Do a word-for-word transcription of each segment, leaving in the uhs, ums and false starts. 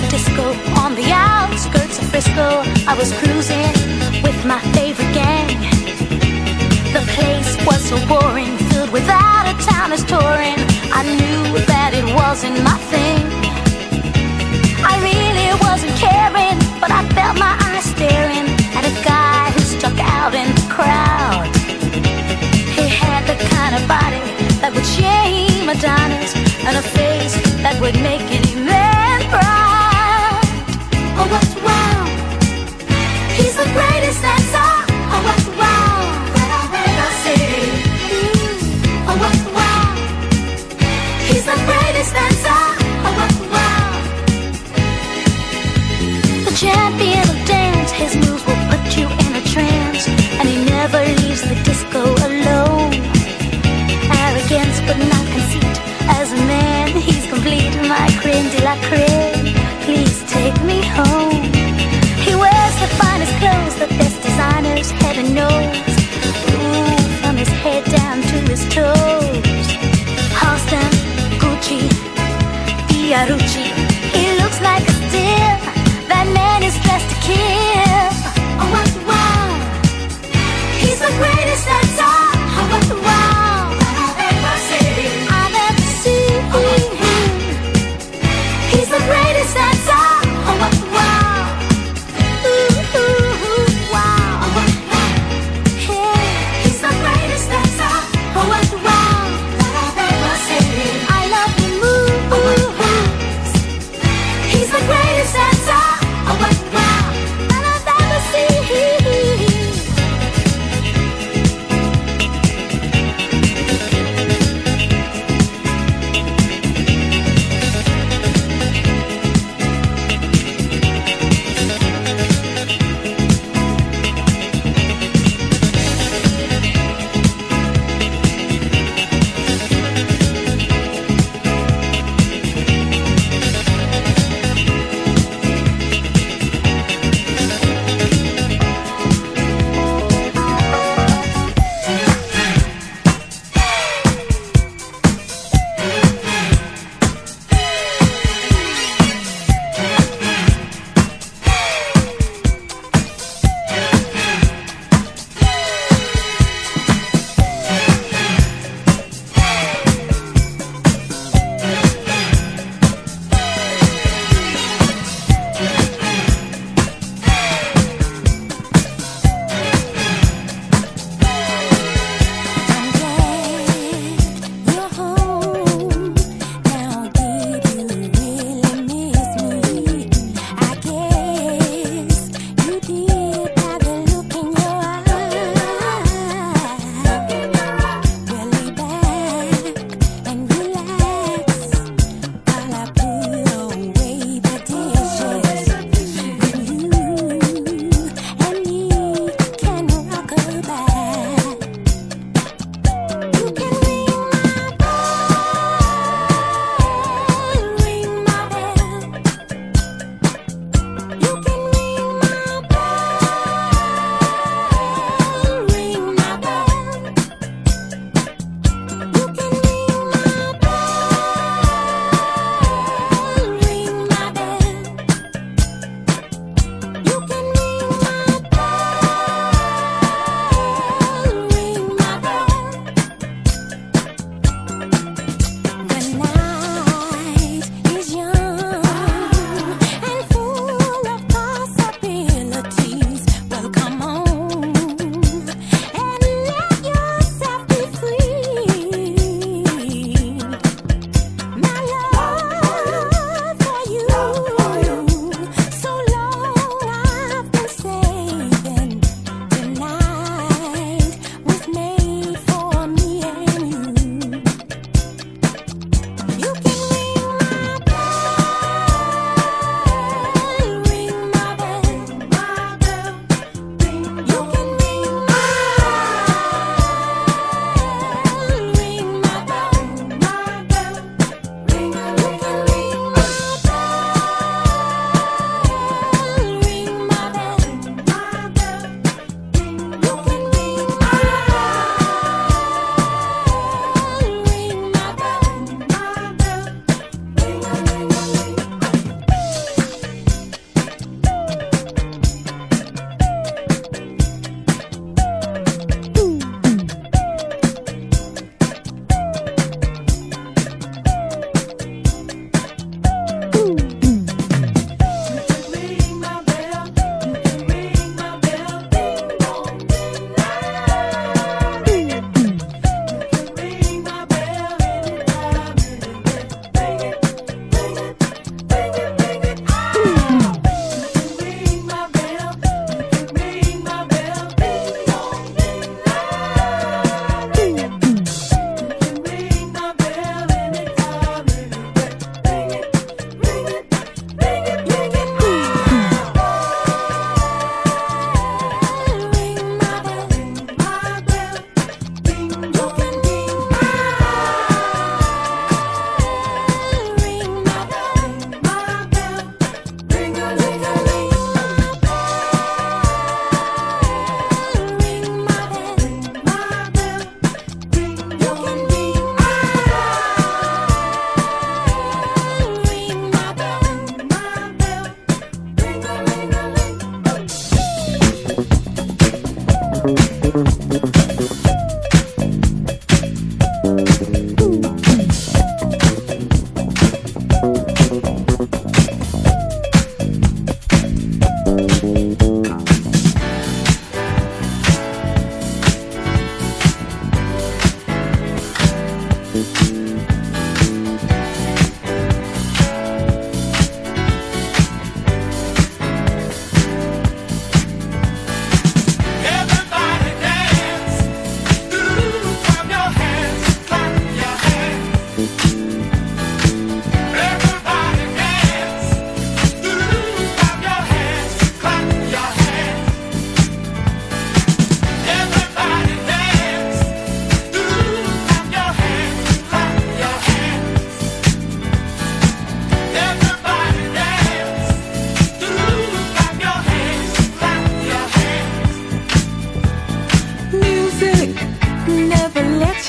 disco on the outskirts of Frisco. I was cruising with my favorite gang. The place was so boring, filled with out-of-towners touring. I knew that it wasn't my thing. I really wasn't caring, but I felt my eyes staring at a guy who stuck out in the crowd. He had the kind of body that would shame Adonis, and a face that would make any man proud. Oh, what's wow? He's the greatest dancer. Oh, what's wow? That I've ever seen. Mm. Oh, what's wow? He's the greatest dancer. Oh, what's wow? The champion of dance, his moves will put you in a trance, and he never leaves the disco alone. Arrogance but not conceit, as a man he's complete. My cringe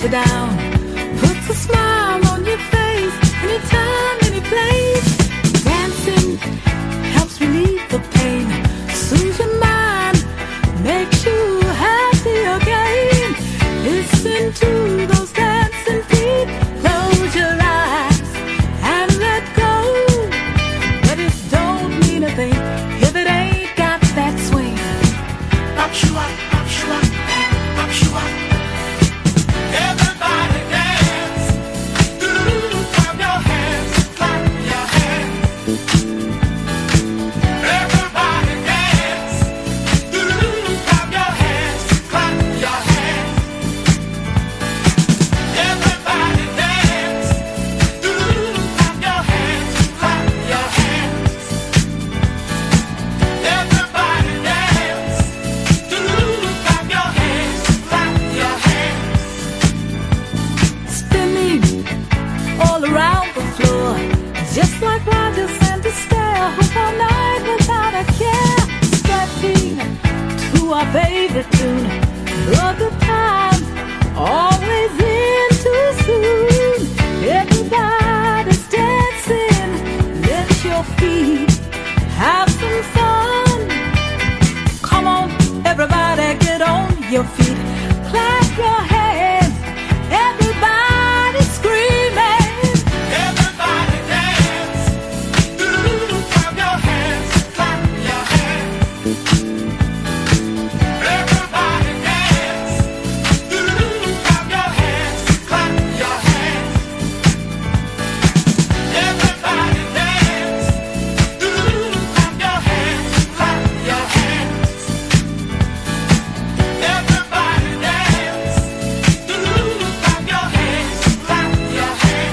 you down, puts a smile on your face, anytime, any place. Dancing helps relieve the pain, soothes your mind, makes you happy again. Listen to those dancing feet, close your eyes and let go. But it don't mean a thing if it ain't got that swing. Pop you up, pop you up, pop you up. Everybody dance, doo-doo-doo, clap your hands, clap your hands. Everybody dance, doo-doo-doo, clap your hands, clap your hands. Everybody dance, doo-doo-doo, clap your hands, clap your hands. Everybody dance, doo-doo-doo, clap your hands, clap your hands. Spinning all around the floor, just like Rogers and Astaire, hook all night without a care. Stepping to our favorite tune, the good times always in too soon. Everybody's dancing, lift your feet, have some fun. Come on, everybody, get on your feet, clap your hands, everybody screaming. Everybody dance, doo-doo-doo, clap your hands, clap your hands. Everybody dance, doo-doo-doo, clap your hands, clap your hands. Everybody dance, doo-doo-doo, clap your hands, clap your hands. Everybody dance, doo-doo-doo, clap your hands, clap your hands.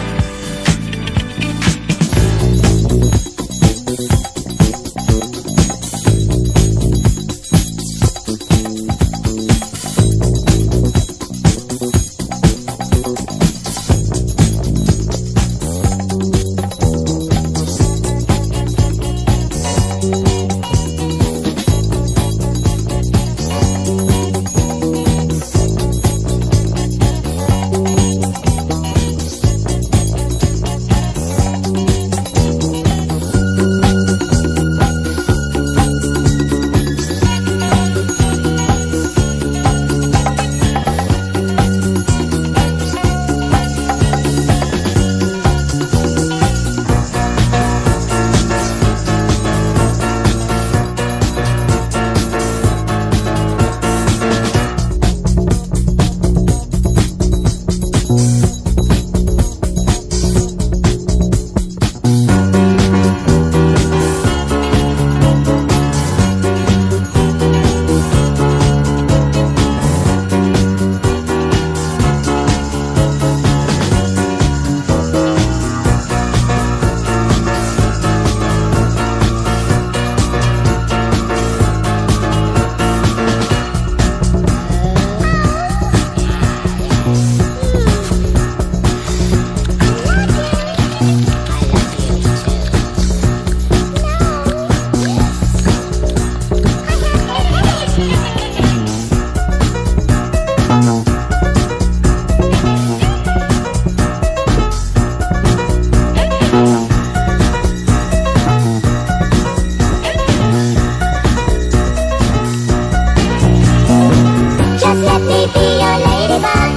Just let me be your ladybug.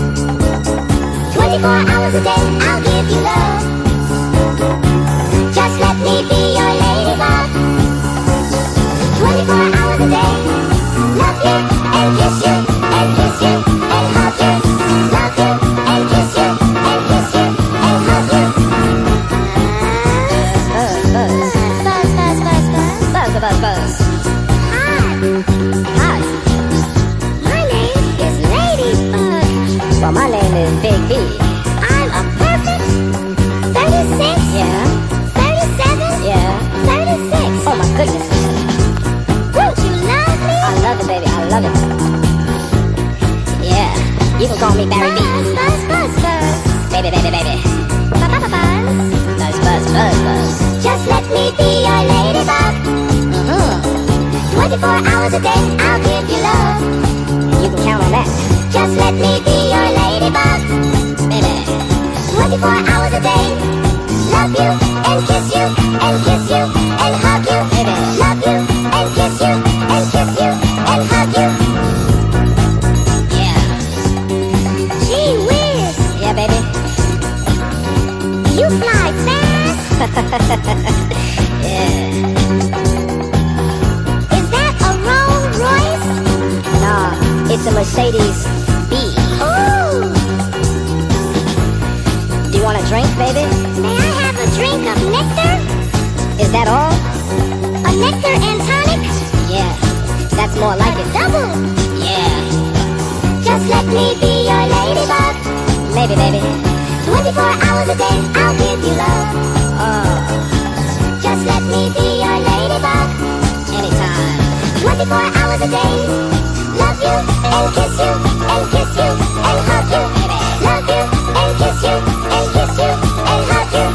Twenty-four hours a day, I'll give you love. Just let me be your ladybug. Twenty-four hours a day, love you and kiss you and kiss you and hug you. Love you and kiss you and kiss you and hug you. Buzz, buzz, buzz, buzz, buzz, buzz, buzz, buzz. Hi, hi. My name is Ladybug. Well, my name is Big B. I'm a perfect thirty-six. Yeah. thirty-seven. Yeah. thirty-six. Oh my goodness. Won't you love me? I love it, baby. I love it. Yeah. You can call me Barry B. Buzz, buzz, buzz, buzz. Baby, baby, baby. Buzz, buzz, buzz. Buzz, buzz, buzz, buzz. Just let me be your ladybug. Mm-hmm. twenty-four hours a day, I'll give you love. You can count on that. Just let me be your ladybug. ladybug. Baby. twenty-four hours a day. Love you and kiss you and kiss you and hug you. Baby. Love you and kiss you and kiss you and hug you. Yeah. Gee whiz. Yeah, baby. You fly fast. Yeah. Is that a Rolls Royce? Nah, it's a Mercedes B. Ooh. Do you want a drink, baby? May I have a drink of nectar? Is that all? A nectar and tonic? Yeah, that's more like it. Double? Yeah. Just let me be your ladybug. Maybe, baby. twenty-four hours a day, I'll give you love. Oh. Just let me be your ladybug. Anytime. twenty-four hours a day. Love you and kiss you and kiss you and hug you. Baby. Love you and kiss you and kiss you and hug you.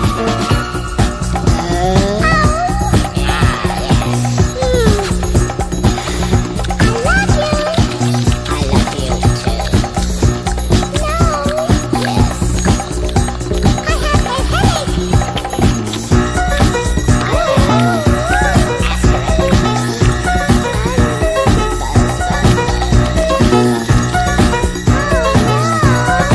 Uh, oh. Ah, yes. Mm. I love you. I love you too. No. Yes. I have a headache. Oh.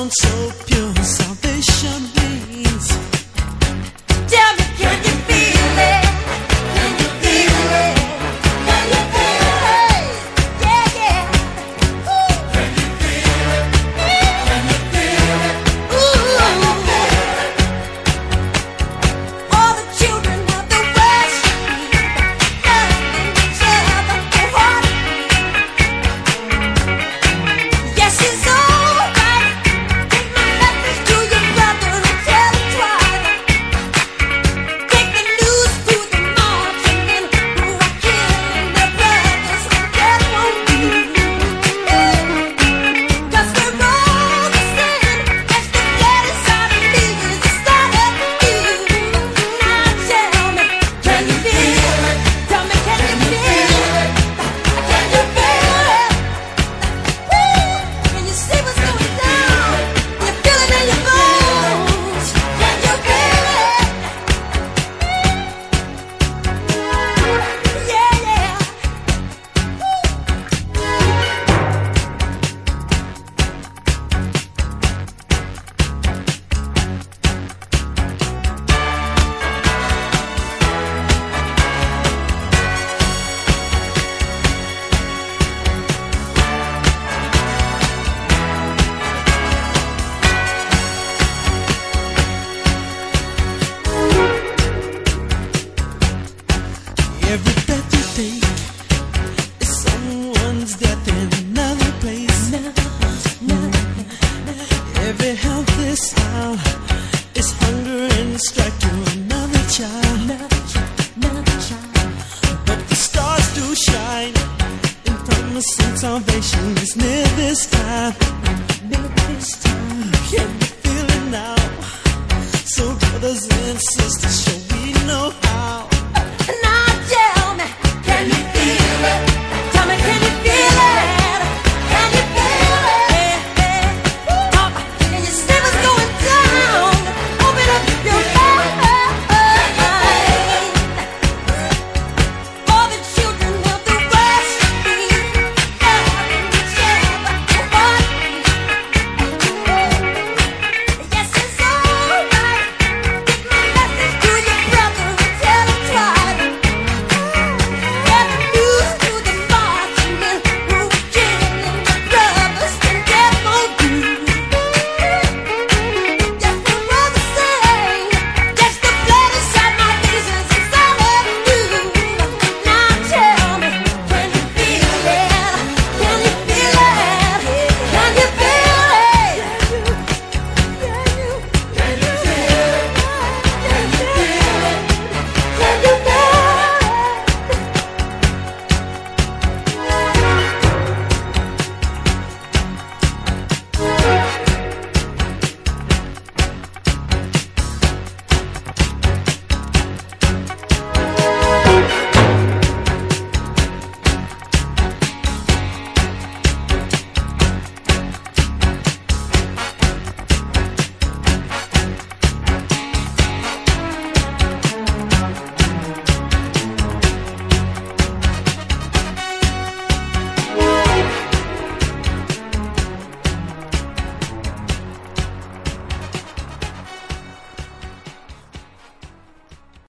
Can you feel it now? So brothers and sisters,